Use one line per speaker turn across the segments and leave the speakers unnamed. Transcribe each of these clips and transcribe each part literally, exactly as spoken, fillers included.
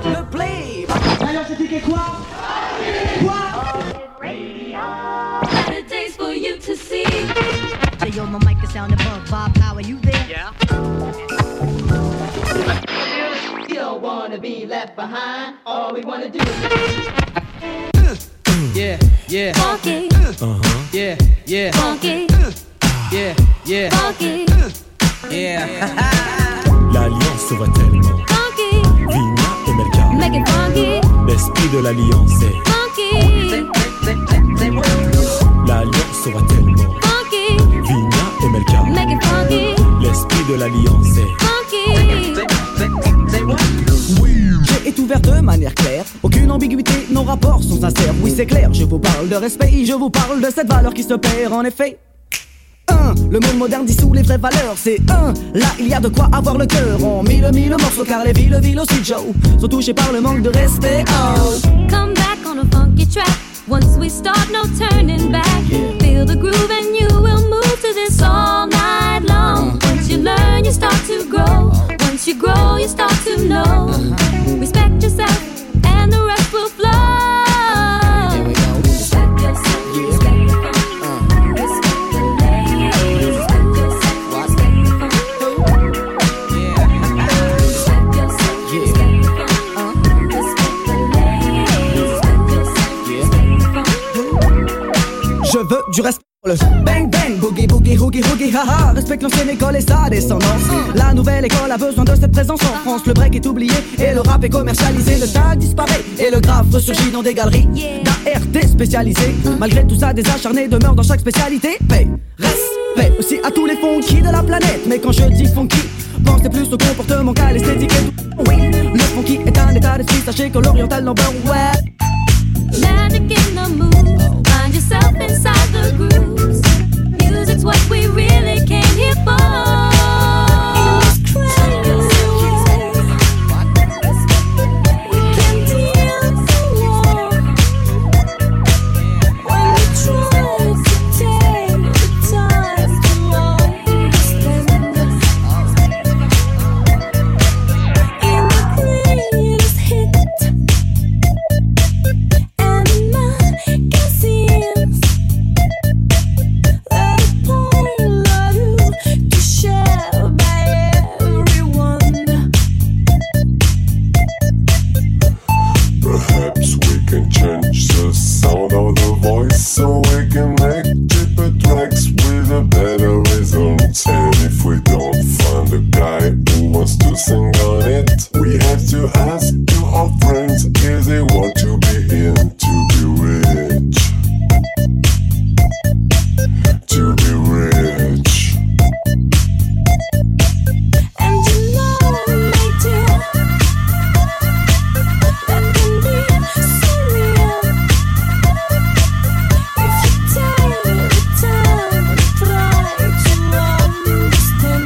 le play. Alors c'est ticket quoi? Quoi?
Better days for you to see.
Hey, yo, my mic is sound above. Bob Power, you there?
Yeah.
You don't wanna be left behind. All we wanna do is
Yeah, yeah.
Funky,
Uh-huh.
Yeah, yeah.
funky,
Yeah, yeah.
funky,
Yeah.
L'alliance va tellement.
funky,
Vina et Melka.
make it funky,
L'esprit de l'alliance est.
funky,
L'alliance va tellement.
funky,
Vina et Melka.
make it funky,
L'esprit de l'alliance est.
funky.
J'ai est ouvert de manière claire, aucune ambiguïté, nos rapports sont sincères. Oui c'est clair, je vous parle de respect, je vous parle de cette valeur qui se perd en effet. Un, le monde moderne dissout les vraies valeurs, c'est un. Là il y a de quoi avoir le cœur en mille mille morceaux, car les villes, villes aussi Joe sont touchées par le manque de respect. Oh.
Come back on a funky track. Once we start, no turning back. Feel the groove and you will move to this all night long. Once you learn, you start to grow. Once you grow, you start to know. Respect yourself and the rest will flow.
Here we go.
Respect yourself, respect the funk. Respect the ladies. Respect yourself, respect the funk. Respect yourself, respect the funk. Respect the ladies. Respect yourself, respect the funk.
Je veux du respect. Le bang bang, boogie boogie hoogie hoogie haha. Respecte l'ancienne école et sa descendance. La nouvelle école a besoin de cette présence en France. Le break est oublié et le rap est commercialisé. Le tag disparaît et le graphe ressurgit dans des galeries d'A R T spécialisés. Malgré tout ça, des acharnés demeurent dans chaque spécialité. Paix, respect aussi à tous les funky de la planète. Mais quand je dis funky, pensez plus au comportement qu'à l'esthétique et tout. Oui, le funky est un état d'esprit. Sachez que l'oriental number one.
Magic in the mood. Find yourself inside the grooves. Music's what we really came here for. We can deal the war when we try to take the time to understand. In the greatest hit. And magazines that point to share by everyone.
Perhaps we can change the sound of the voice so we can make cheaper tracks with a better result. And if we don't find a guy who wants to sing on it, we have to ask to our friends if they want to be in to be rich. To be rich.
And you know, my dear, that can be so real if you take the time and try to understand.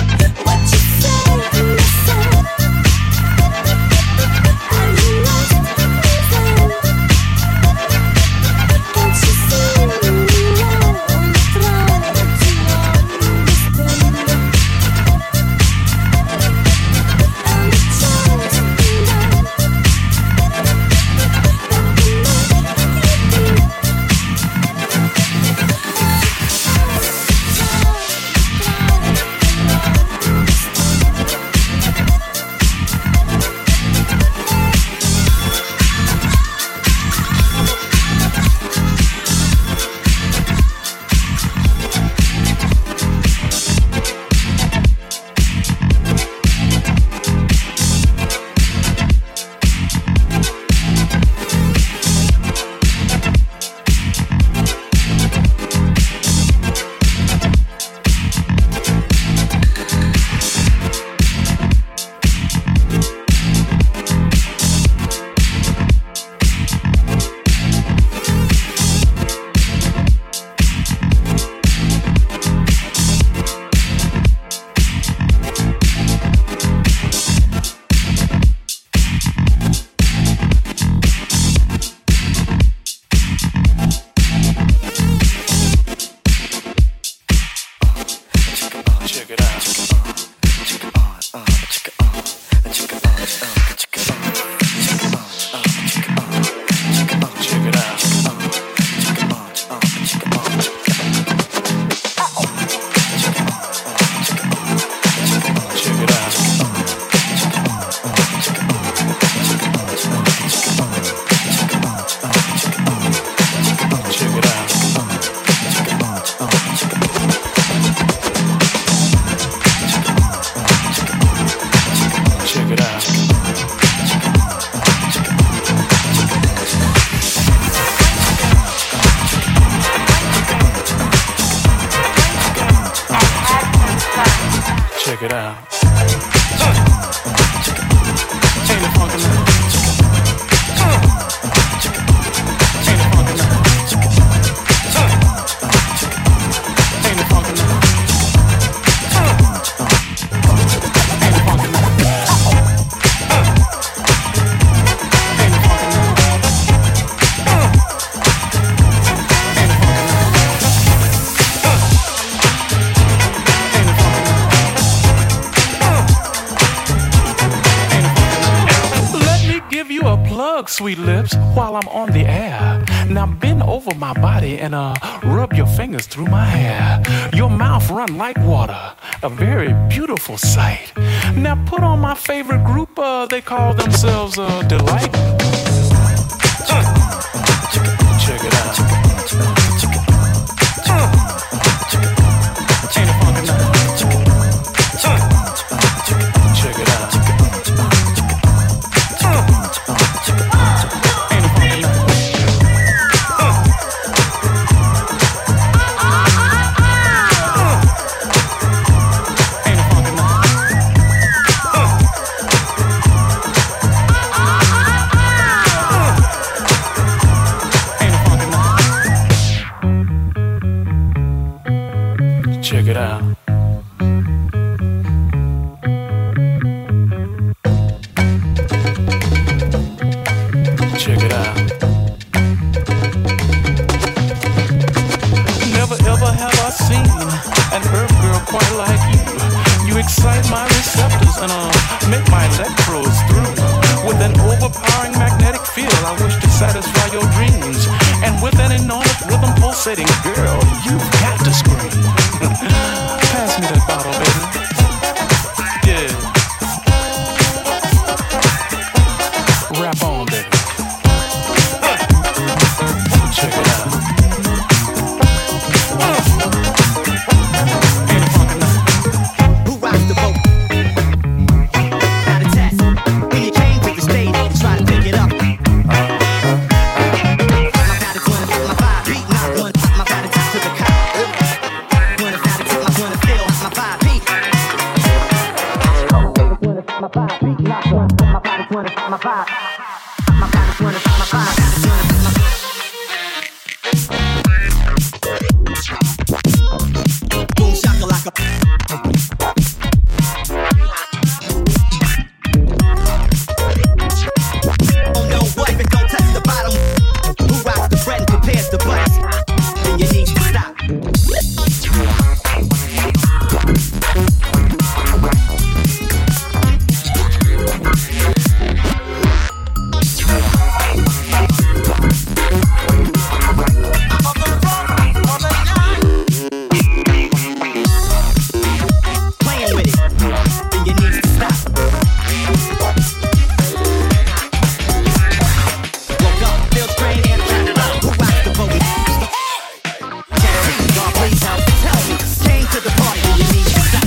What you say to myself? Are you lost?
out. Ain't it funky now? Ain't it funky now? Ain't it funky now? Ain't it funky now? Sweet lips, while I'm on the air. Now bend over my body and uh rub your fingers through my hair. Your mouth run like water, a very beautiful sight. Now put on my favorite group, uh, they call themselves uh, Delight. Check it out. Ain't it funky now? Check it out. Check it out. Check it out. Never ever have I seen an earth girl quite like you. You excite my receptors and uh, make my electrodes through. With an overpowering magnetic field, I wish to satisfy your dreams. And with an enormous rhythm pulsating, girl, you've got to scream. Pass me that bottle, baby. Yeah. Rap on, baby. Check it out. Ain't it funky now?
Who rocks the boat? Not a test. When you came to the stage, you try to pick it up. My body's gonna fit my vibe. Beat not one. My body tied to the cop. Gonna start to tip my gonna feel my vibe beat. My vibe beat not one. My body's gonna fit my vibe. My body's gonna fit my vibe. Boom shakalaka. Oh no, what if it don't touch the bottom? Who rocks the bread and prepares the butts? Then you need to stop. Playing with it, then you need to stop. Woke up, feel strained and trapped. Who rocks the boat? God, please help, tell me. Came to the party, then you need to stop.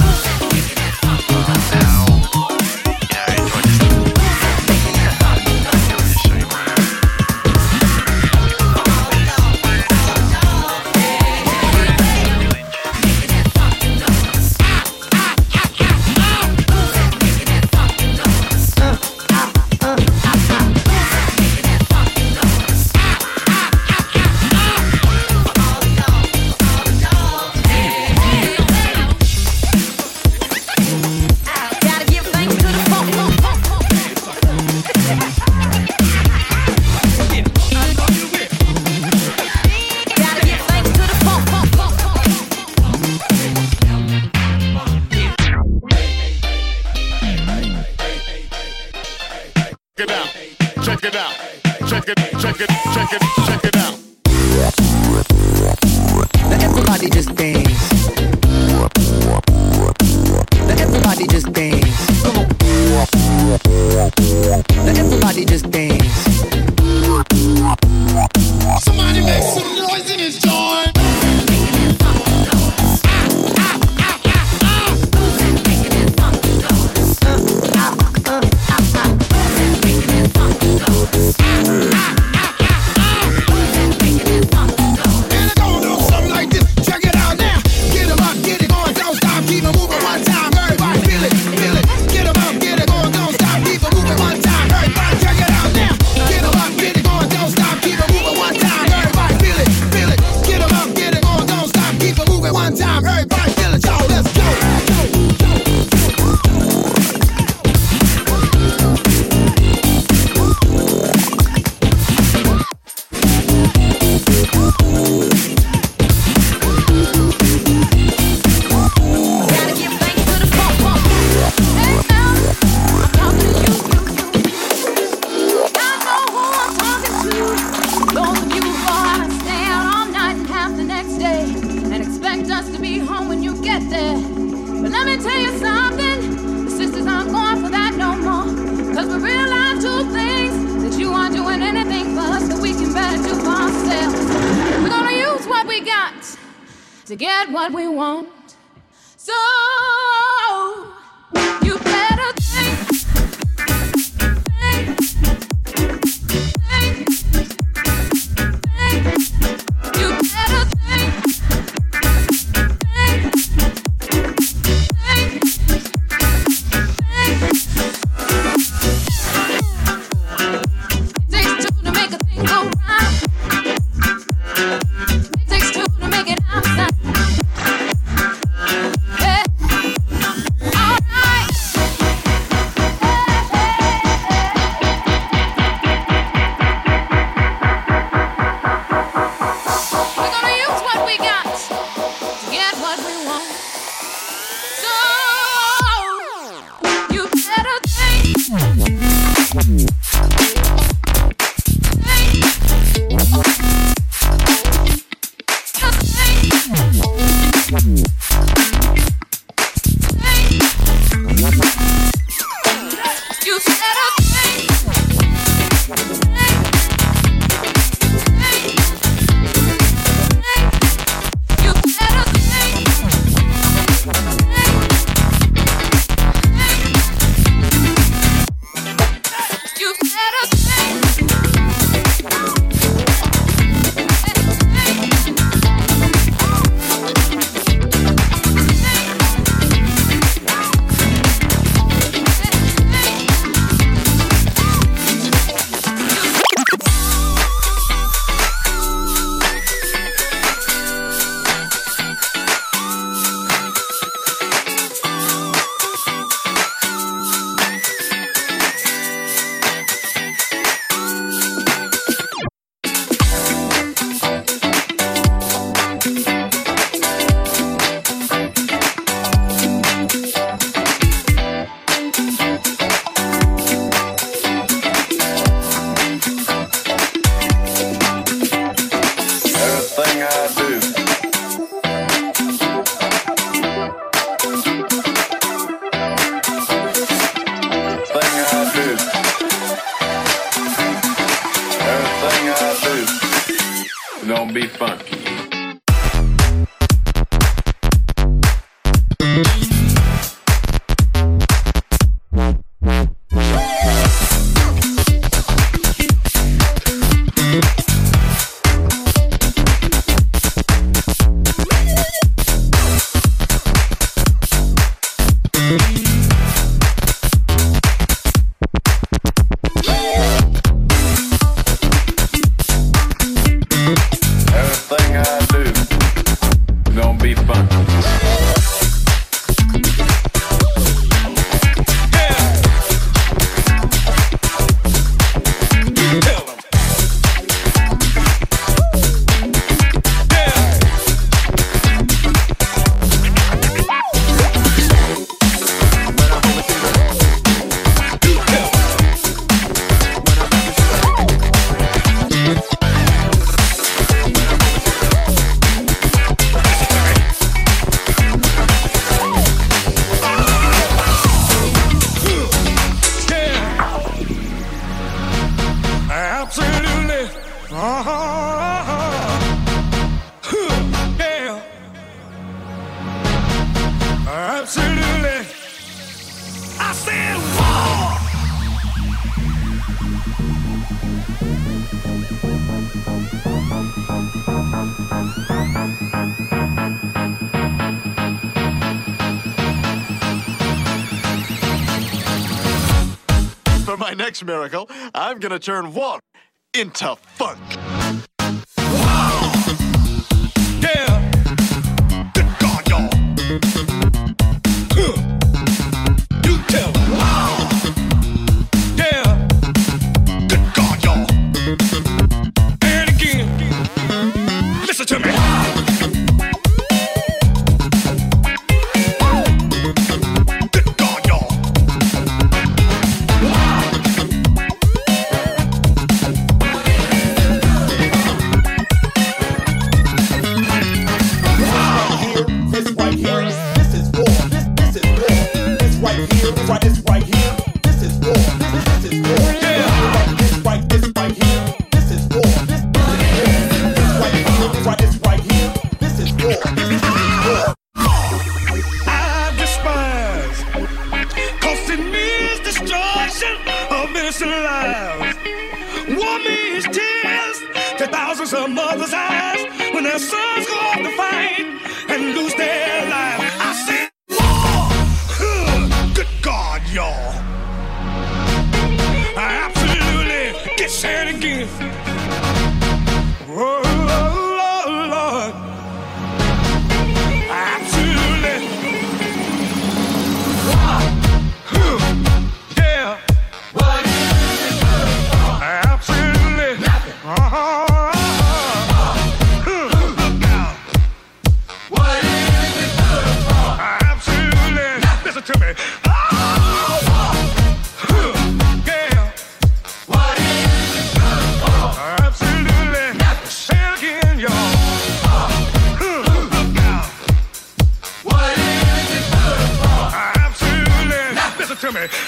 Gotta give thanks to the funk. Gotta give thanks to the funk.
Check it out. Check it out. Check it, check it, check it, check it out.
Now everybody just dance. Now everybody just dance. Come on. Now everybody just dance.
Somebody make some noise in this joint.
And I'm gonna do something like this. Check it out now. Get 'em up, get it going, don't stop, keep it moving one time. Hey.
we got to get what we want. So you better think, think, think, think. You better think, think, think, think. It takes two to make a thing go right. It takes two to make it outside. Hey. All right. We're gonna use what we got to get what we want. So you better think. You better think. You better think. You better
Everything I do. Everything I do. Everything I do. Don't be funky. Everything I do, don't be funky.
Absolutely. Uh-huh. Yeah. Absolutely. I said war.
For my next miracle, I'm gonna turn water into funk.
Yeah.
Good God, y'all.
Huh. You tell them. Yeah.
Good God, y'all.
And again. Listen to me.
Good God, y'all.
right here.
innocent lives. War means tears to thousands of mothers' eyes when their sons go off to fight and lose their lives. I said war! Huh. Good God, y'all. I absolutely get sad again. Oh, Lord, Lord. I absolutely. Yeah. What is it good for? Absolutely. Nothing. Uh-huh. Look out. What is it good for? Absolutely. Nothing. Listen to me. Yeah. What is it good for? Absolutely. Nothing. Say it again, y'all. Look out. What is it good for? Absolutely. Nothing. Listen to me.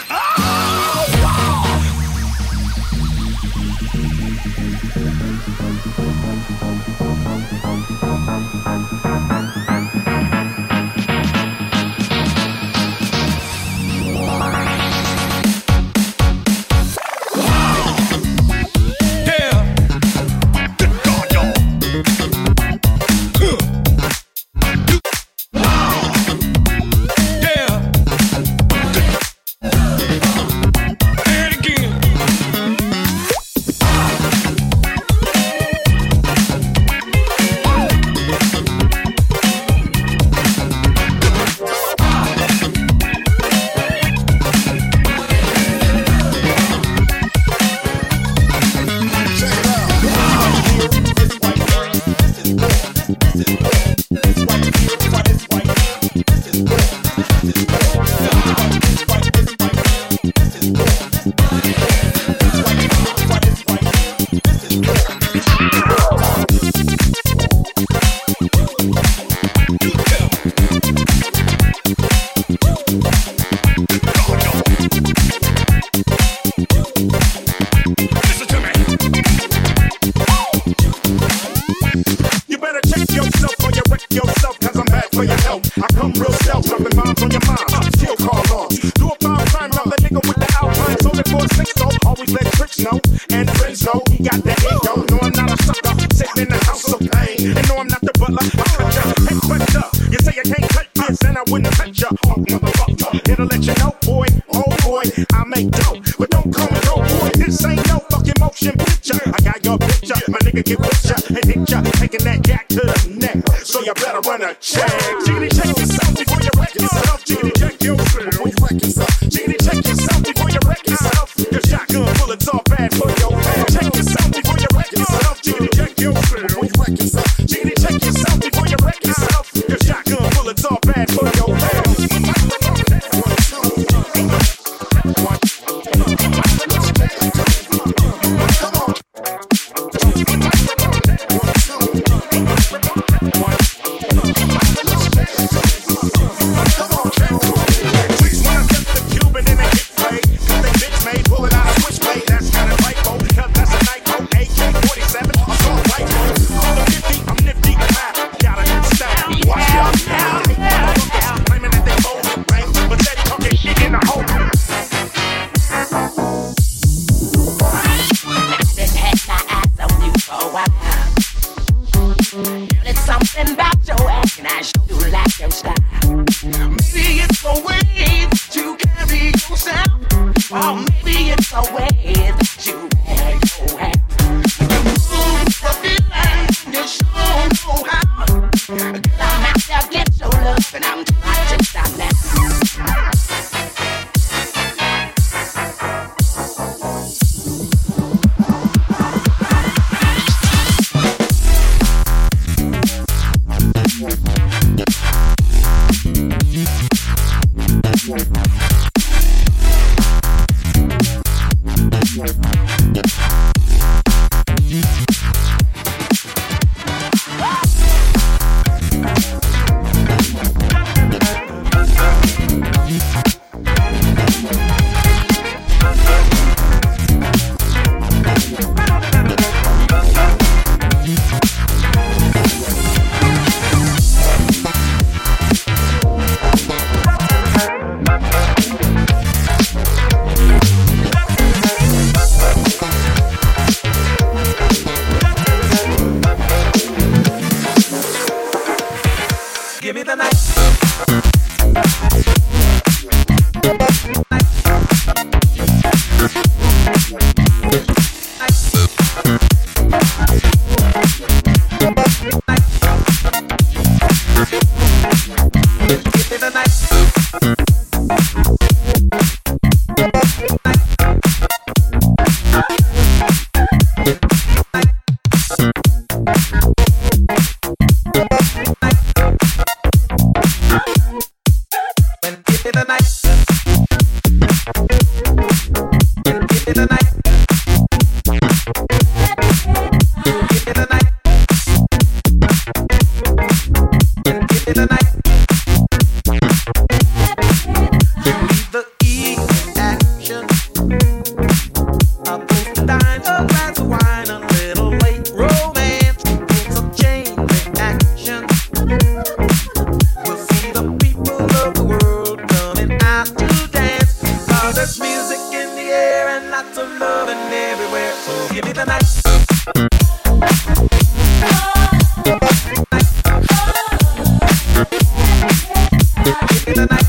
Cause there's music in the air and lots of loving everywhere. So give me the night. Give me the night.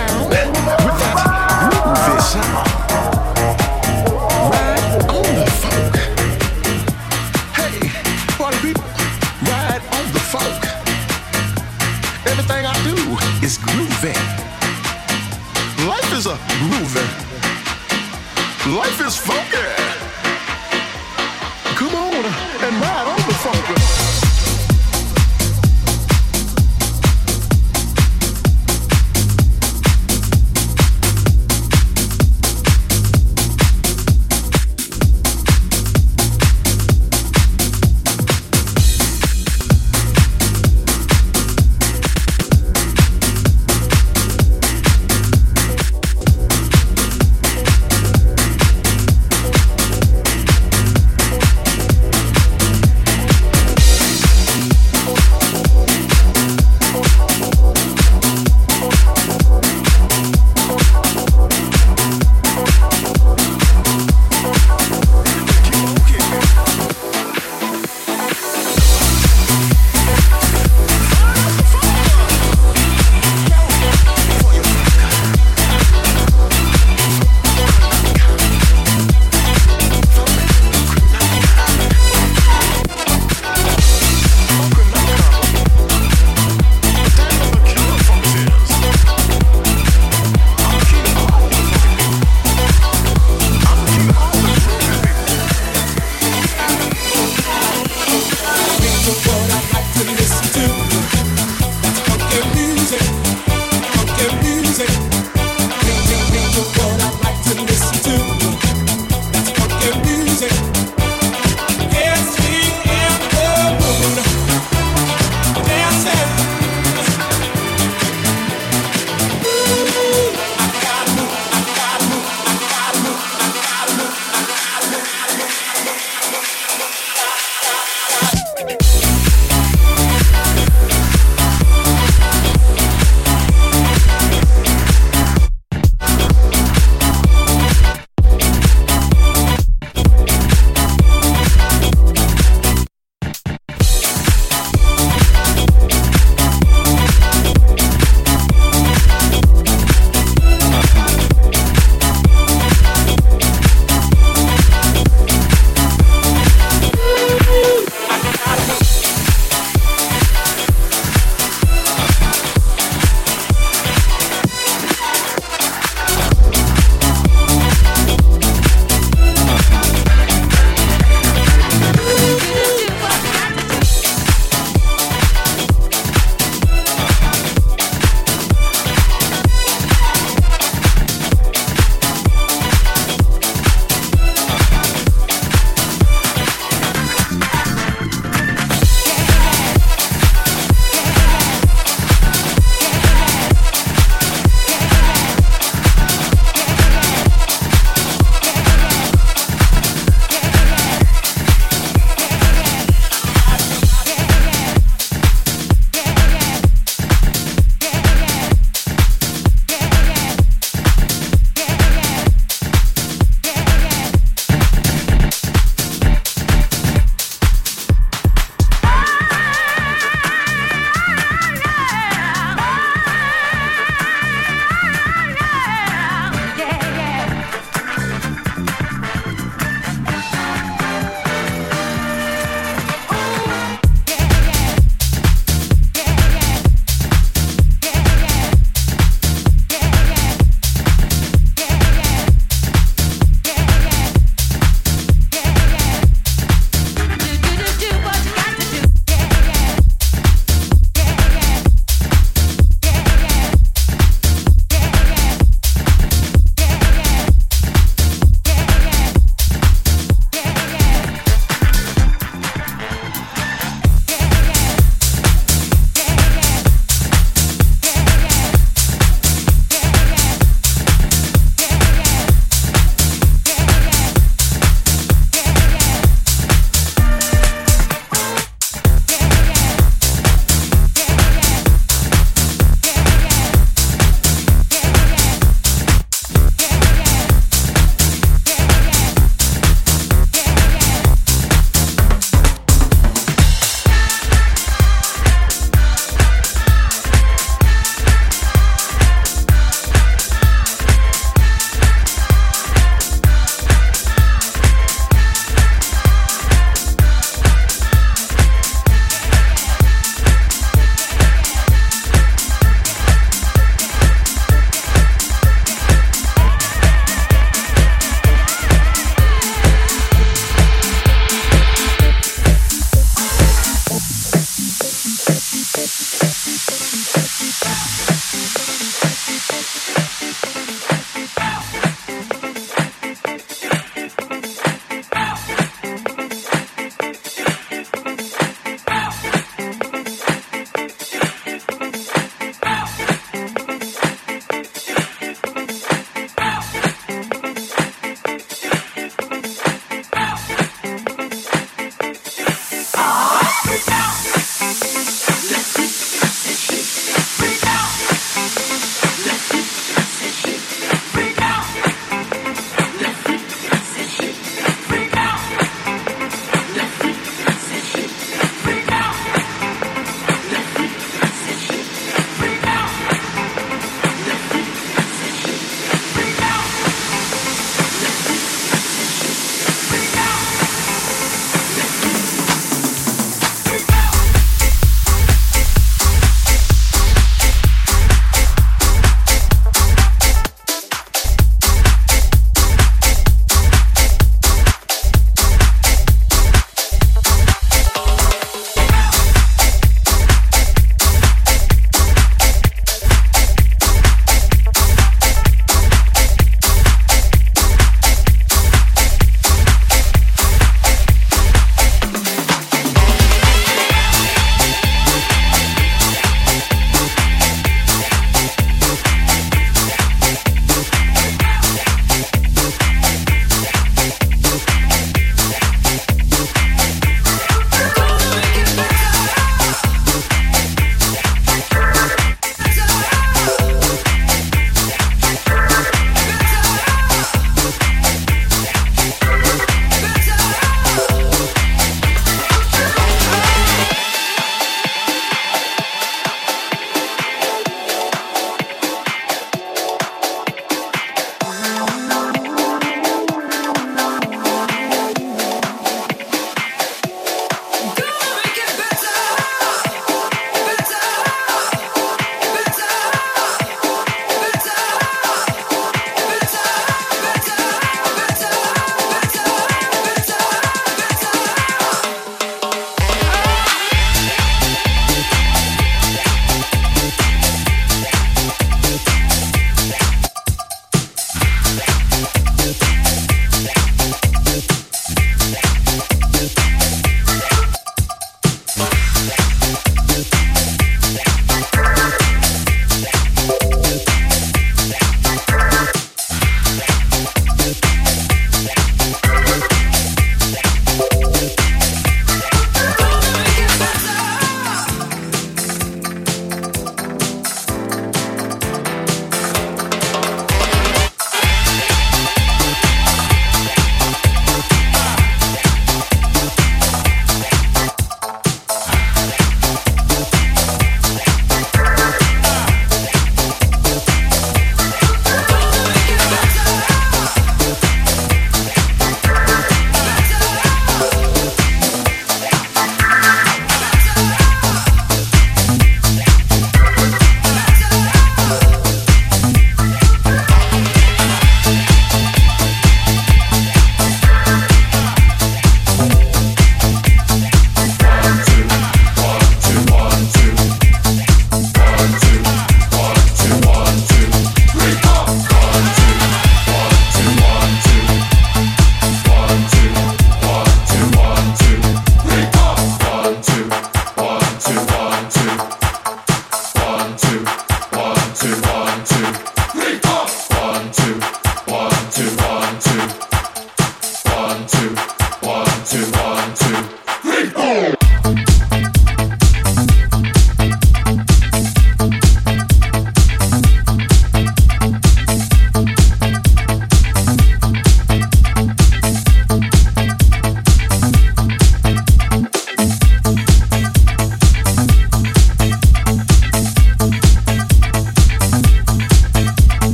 around with that groovy sound. Ride on the funk. Hey, party people, ride on the funk. Everything I do is groovy. Life is a groovy. Life is funky. Come on and ride on the funk.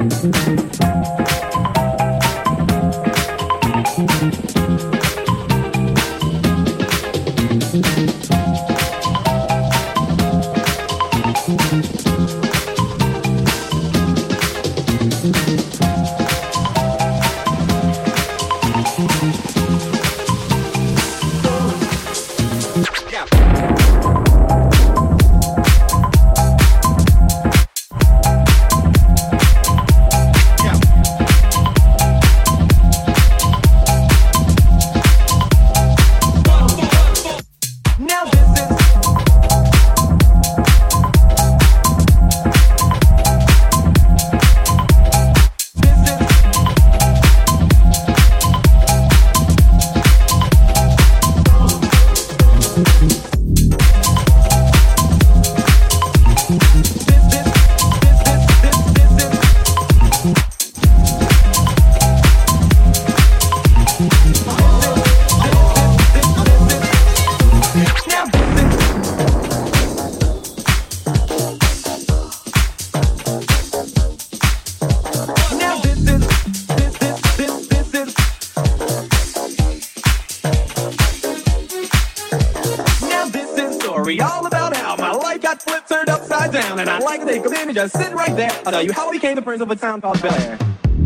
Just sitting right there. I'll tell you how I became the prince of a town called Bel Air.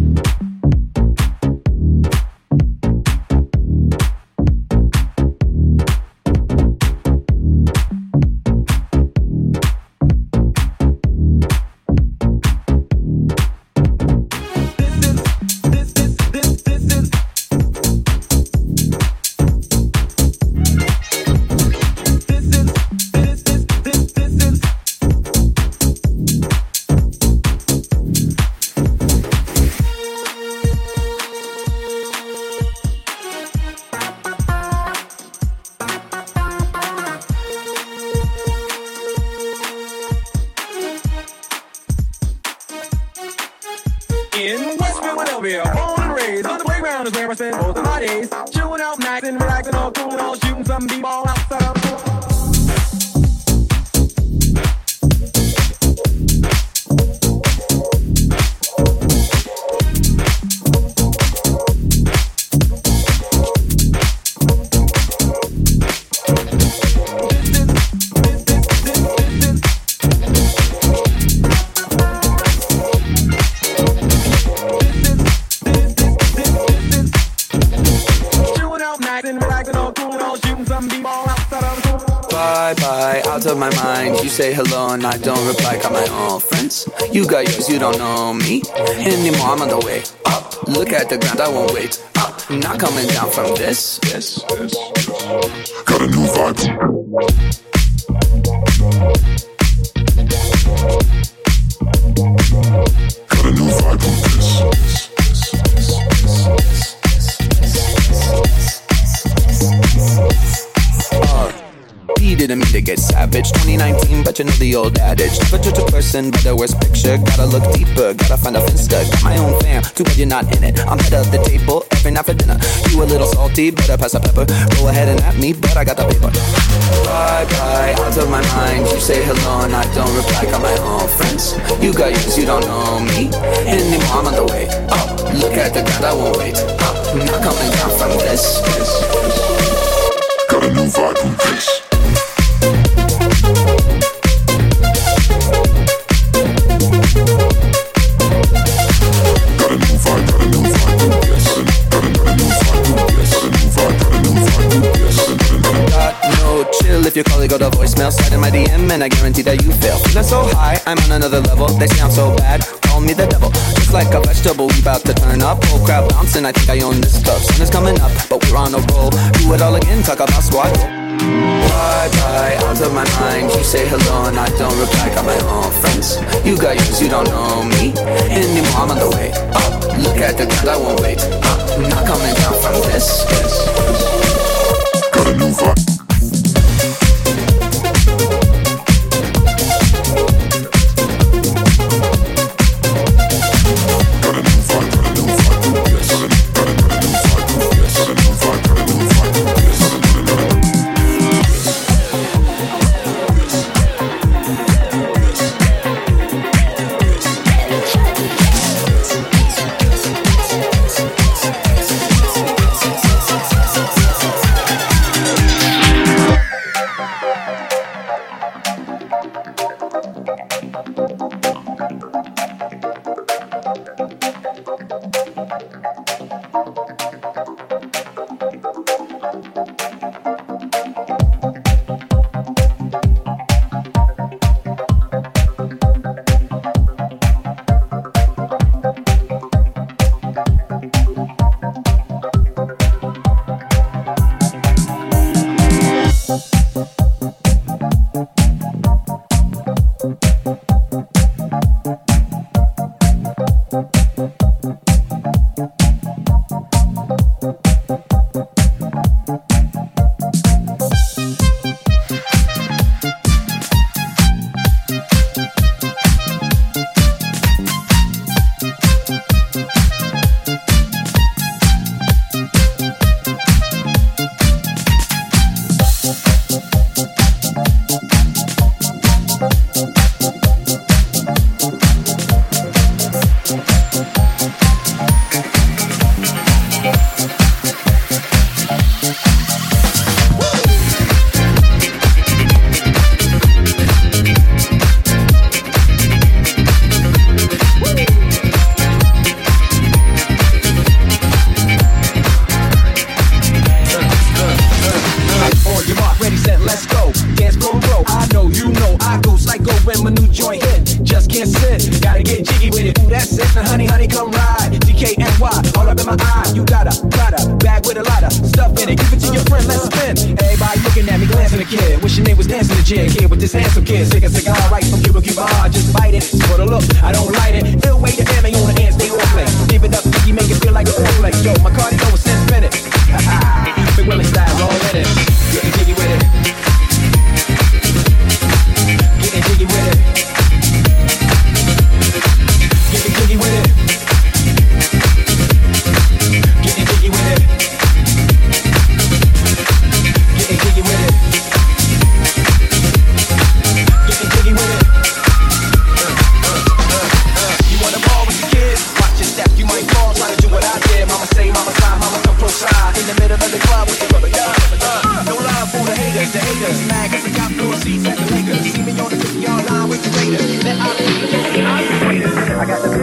Of my mind, you say hello and I don't reply. Got my own friends, you got yours, you don't know me anymore. I'm on the way up, look at the ground, I won't wait up. I'm not coming down from this. This, this.
Got a new vibe. Got a new vibe on this.
Didn't mean to get savage. twenty nineteen, but you know the old adage. Never judge a person by the worst picture. Gotta look deeper, gotta find a finsta. Got my own fam, too bad you're not in it. I'm head of the table every night for dinner. You a little salty, better pass the pepper. Go ahead and at me, but I got the paper. Bye bye, out of my mind. You say hello and I don't reply. Got my own friends, you got yours, you don't know me anymore. I'm on the way up, look at the ground, I won't wait up. I'm not coming down from this.
Got a new vibe on this.
If your colleague got a voicemail, slide in my D M and I guarantee that you fail. Feeling so high, I'm on another level. They sound so bad, call me the devil. Just like a vegetable, we bout to turn up. Whole crowd bouncing, I think I own this club. Sun is coming up, but we're on a roll. Do it all again, talk about squad. Bye bye, out of my mind. You say hello and I don't reply. Got my own friends, you got yours, you don't know me anymore. I'm on the way up, look at the ground, I won't wait up. I'm not coming down from this.
Got a new vibe.
sis, now honey, honey, come ride. D K N Y, all up in my eye. You got a Prada bag with a lot of stuff in it. Give it to your friend, let's spin. Everybody looking at me, glancing at the kid. Wishing they was dancing the jig. Kid with this handsome kid. Sick a cigar right from Cuba Cuba. I just bite it. It's for the look, I don't light it. Ill way the M A on the hands, they all play. Give it up, Biggie, make it feel like a foreplay. Yo, my cardio was ten minutes. Big Willie style, all in it. Getting jiggy with it. Getting jiggy with it. Getting jiggy with it. Getting jiggy with it. Getting jiggy with it. Getting jiggy with it. You wanna ball with your kids? Watch your step, you might fall. Try to do what I did. Mama say, mama side, mama come close side. In the middle of the club with the rubber gun. Uh, no love for the haters, the haters. Mad cause I got floor seats at the Lakers. See me on the fifty-yard line with the Raiders. Then I I got the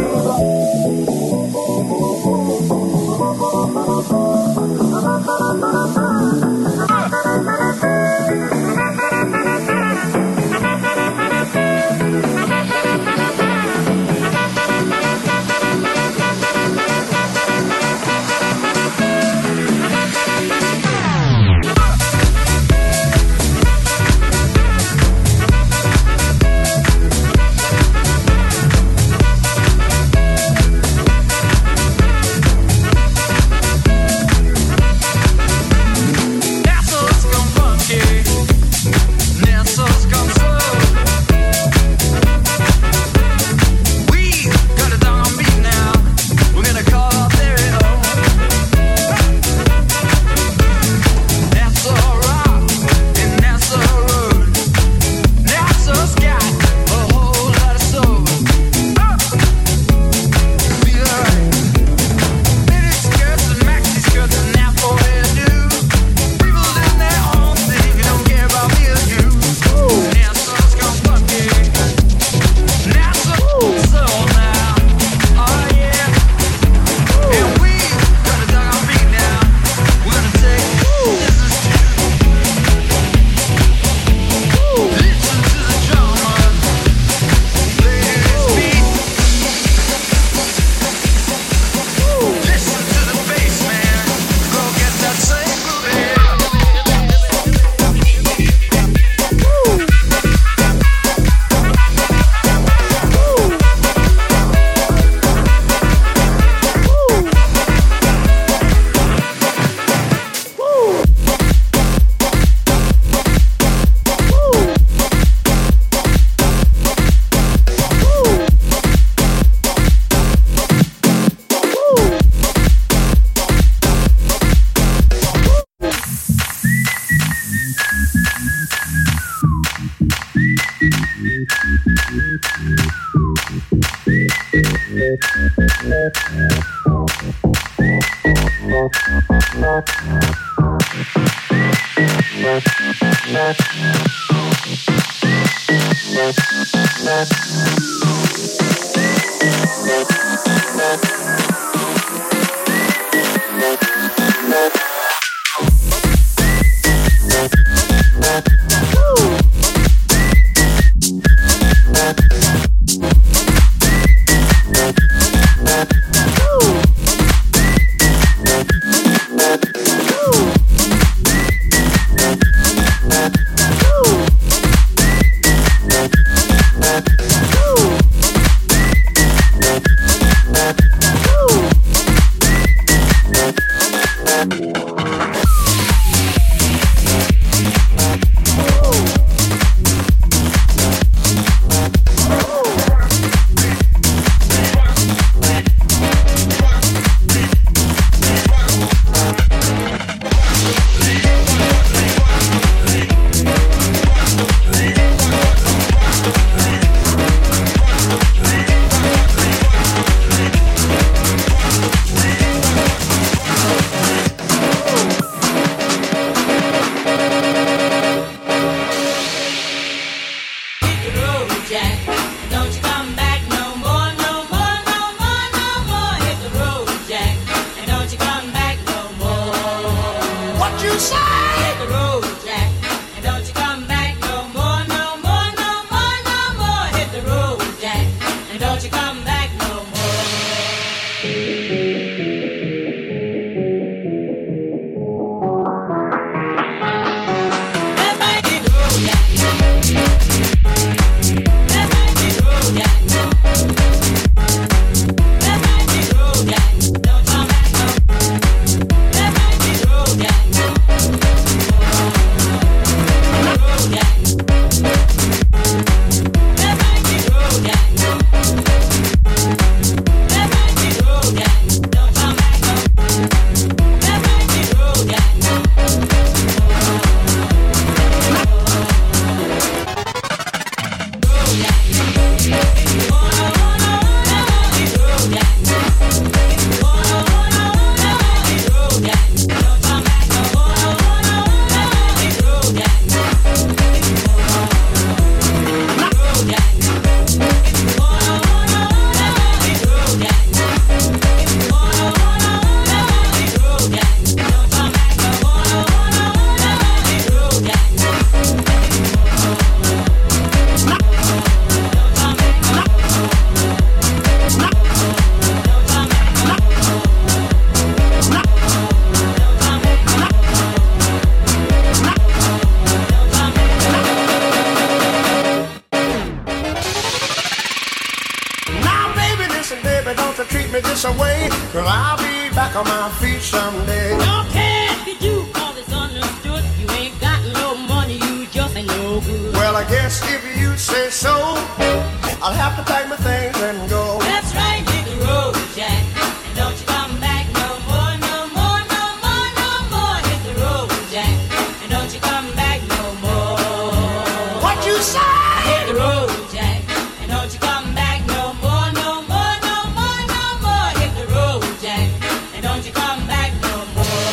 away, cause I'll be back on my feet someday.
Don't care if you do, cause it's understood. You ain't got no money, you just ain't no good.
Well, I guess if you say so, I'll have to pack my things and go.
That's right, hit the road, Jack. And don't you come back no more, no more, no more, no more. Hit the road, Jack. And don't you come back no more.
What you say?
Hit the road, Jack. And don't you come back no more, no more, no more, no more. Hit the road, Jack. And don't you come back no more.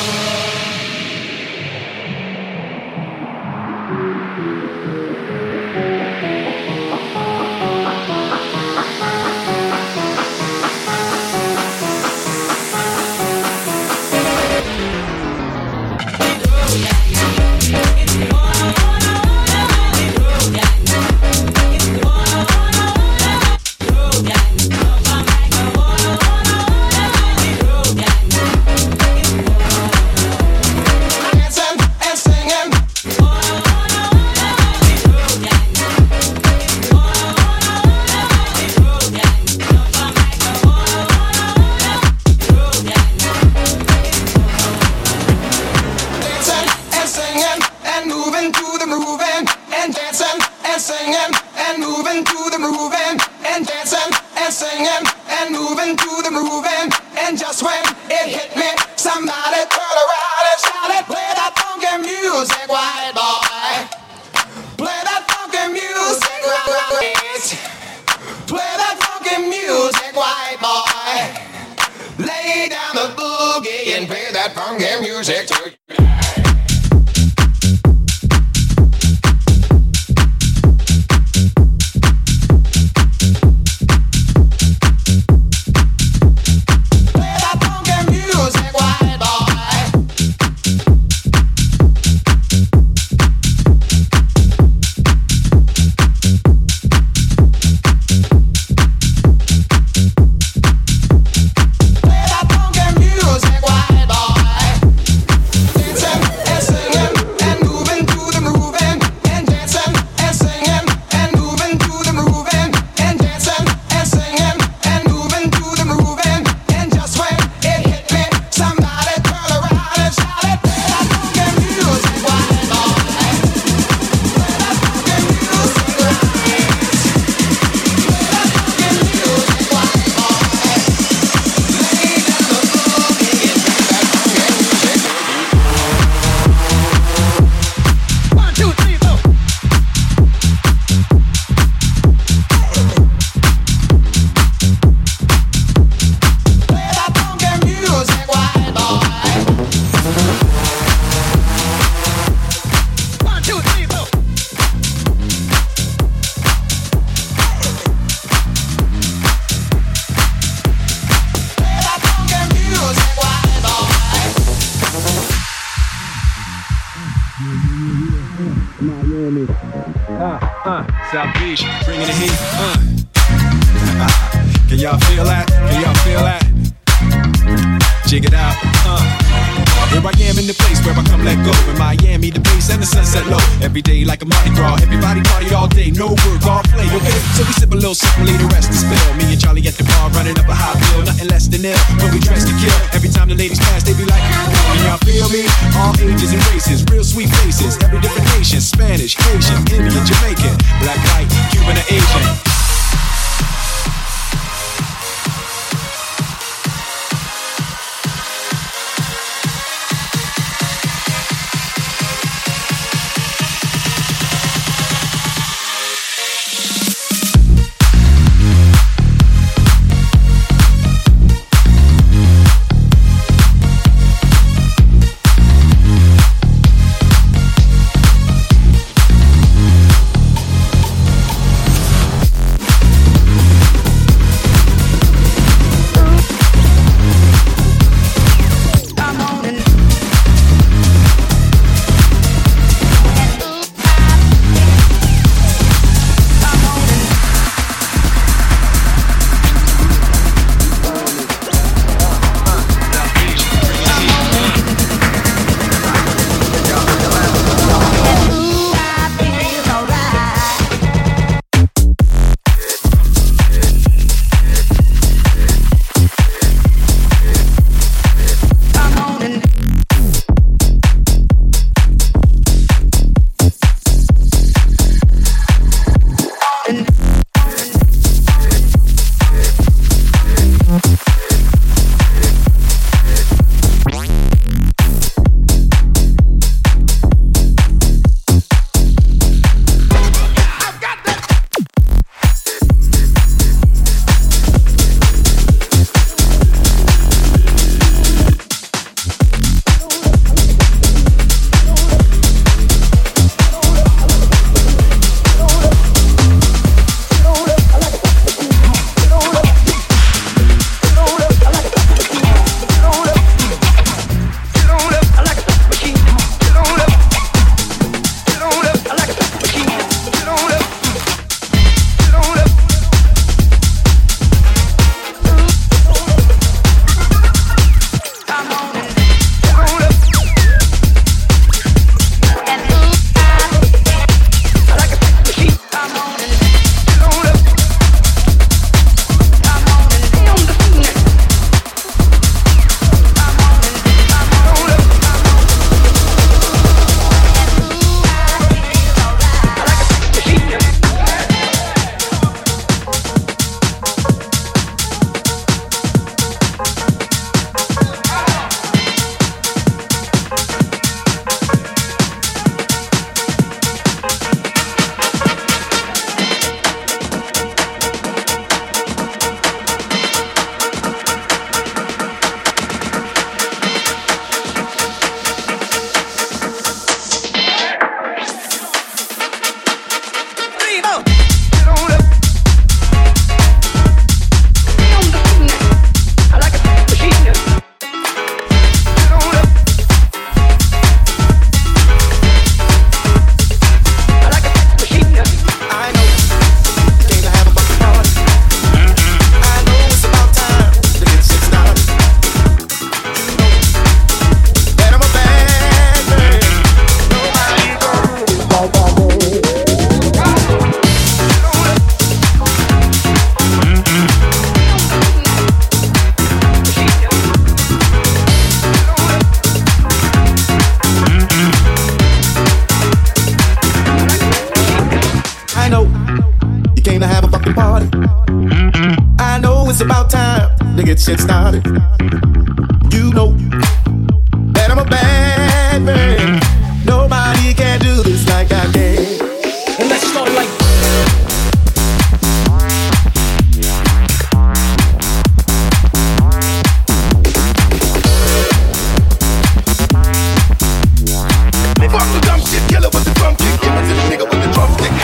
South Beach, bringing the heat. Uh. Can y'all feel that? Can y'all feel that? Jig it out. Uh. Here I am in the place where I come let go. In Miami, the bass and the sunset low. Every day like a Mardi Gras. Everybody party all day, no work, all play, okay? So we sip a little something, leave the rest to spill. Me and Charlie at the bar running up a high bill. Nothing less than ill when we dress to kill. Every time the ladies pass, they be like, can y'all feel me? All ages and races, real sweet faces. Every different nation, Spanish, Haitian, Indian, Jamaican, black, white, Cuban, or Asian.
shit started. You know that I'm a bad man. Nobody can do this like I can.
And let's start it like
fuck the dumb shit, killer with the drum kick. Give it to the nigga with the drumstick.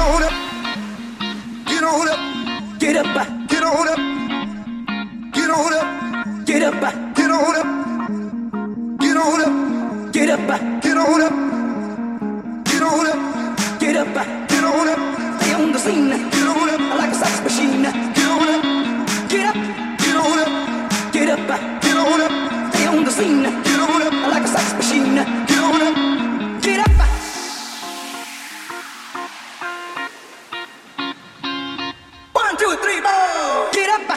on up, get on up, get up, get on up, get on up, get up, get on up, get on up, get up, get on up, get on up, get up, get on up, stay on the scene, get on up, like a sex machine, get on up, get up, get on up, get up, get on up, stay on the scene, get on up, like a sex machine, get on up, get up. One, two, three, four, get up.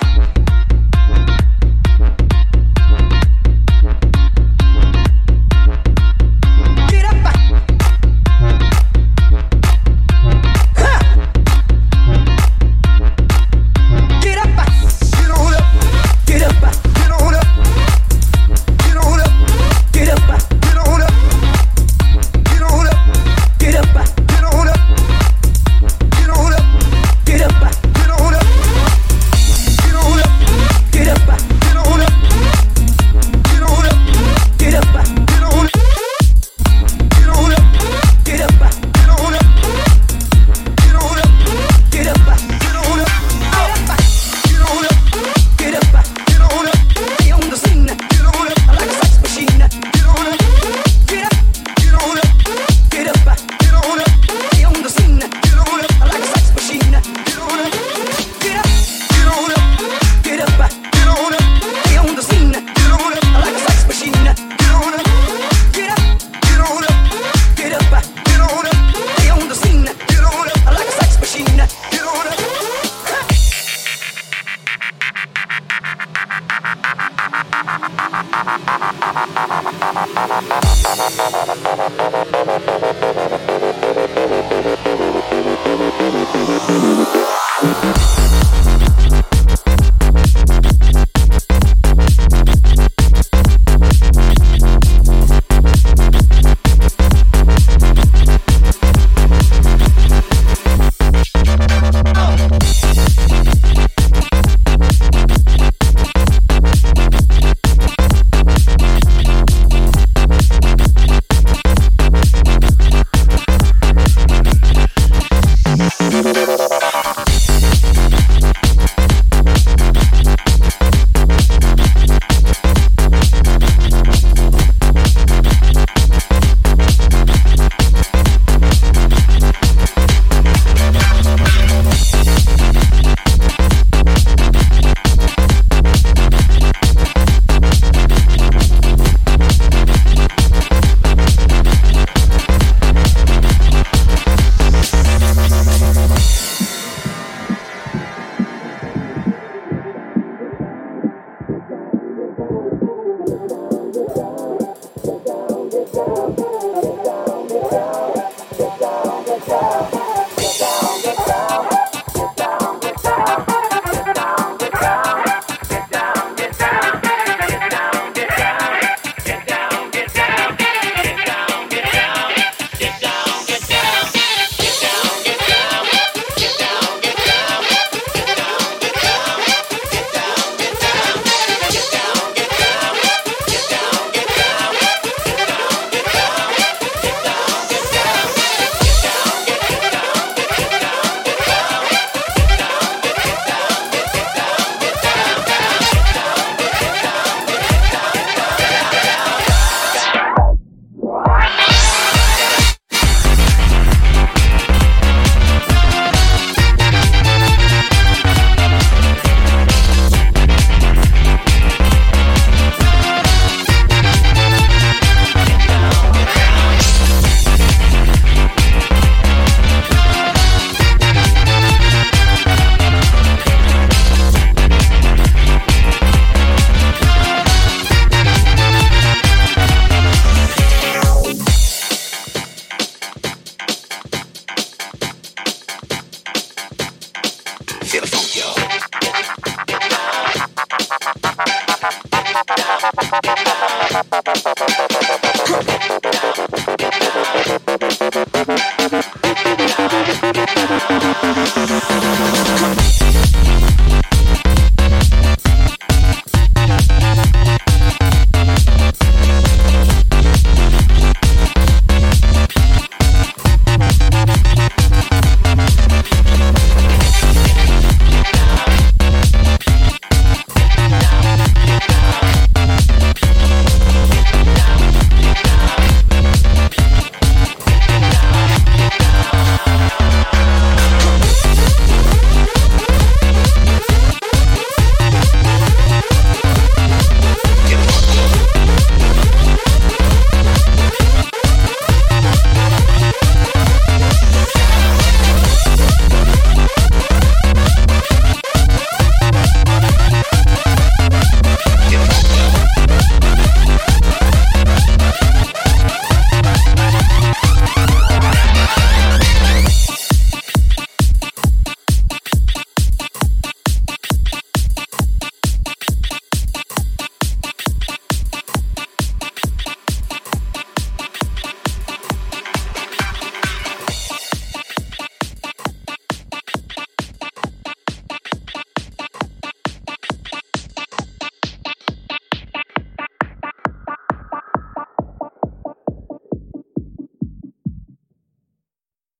We'll be right back.